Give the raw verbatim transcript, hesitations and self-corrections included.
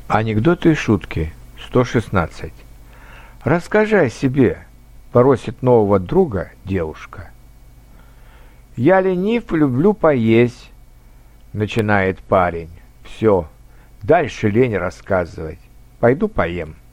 Анекдоты и шутки. сто шестнадцать. Расскажи о себе, просит нового друга девушка. Я ленив, люблю поесть, начинает парень. Все, дальше лень рассказывать. Пойду поем.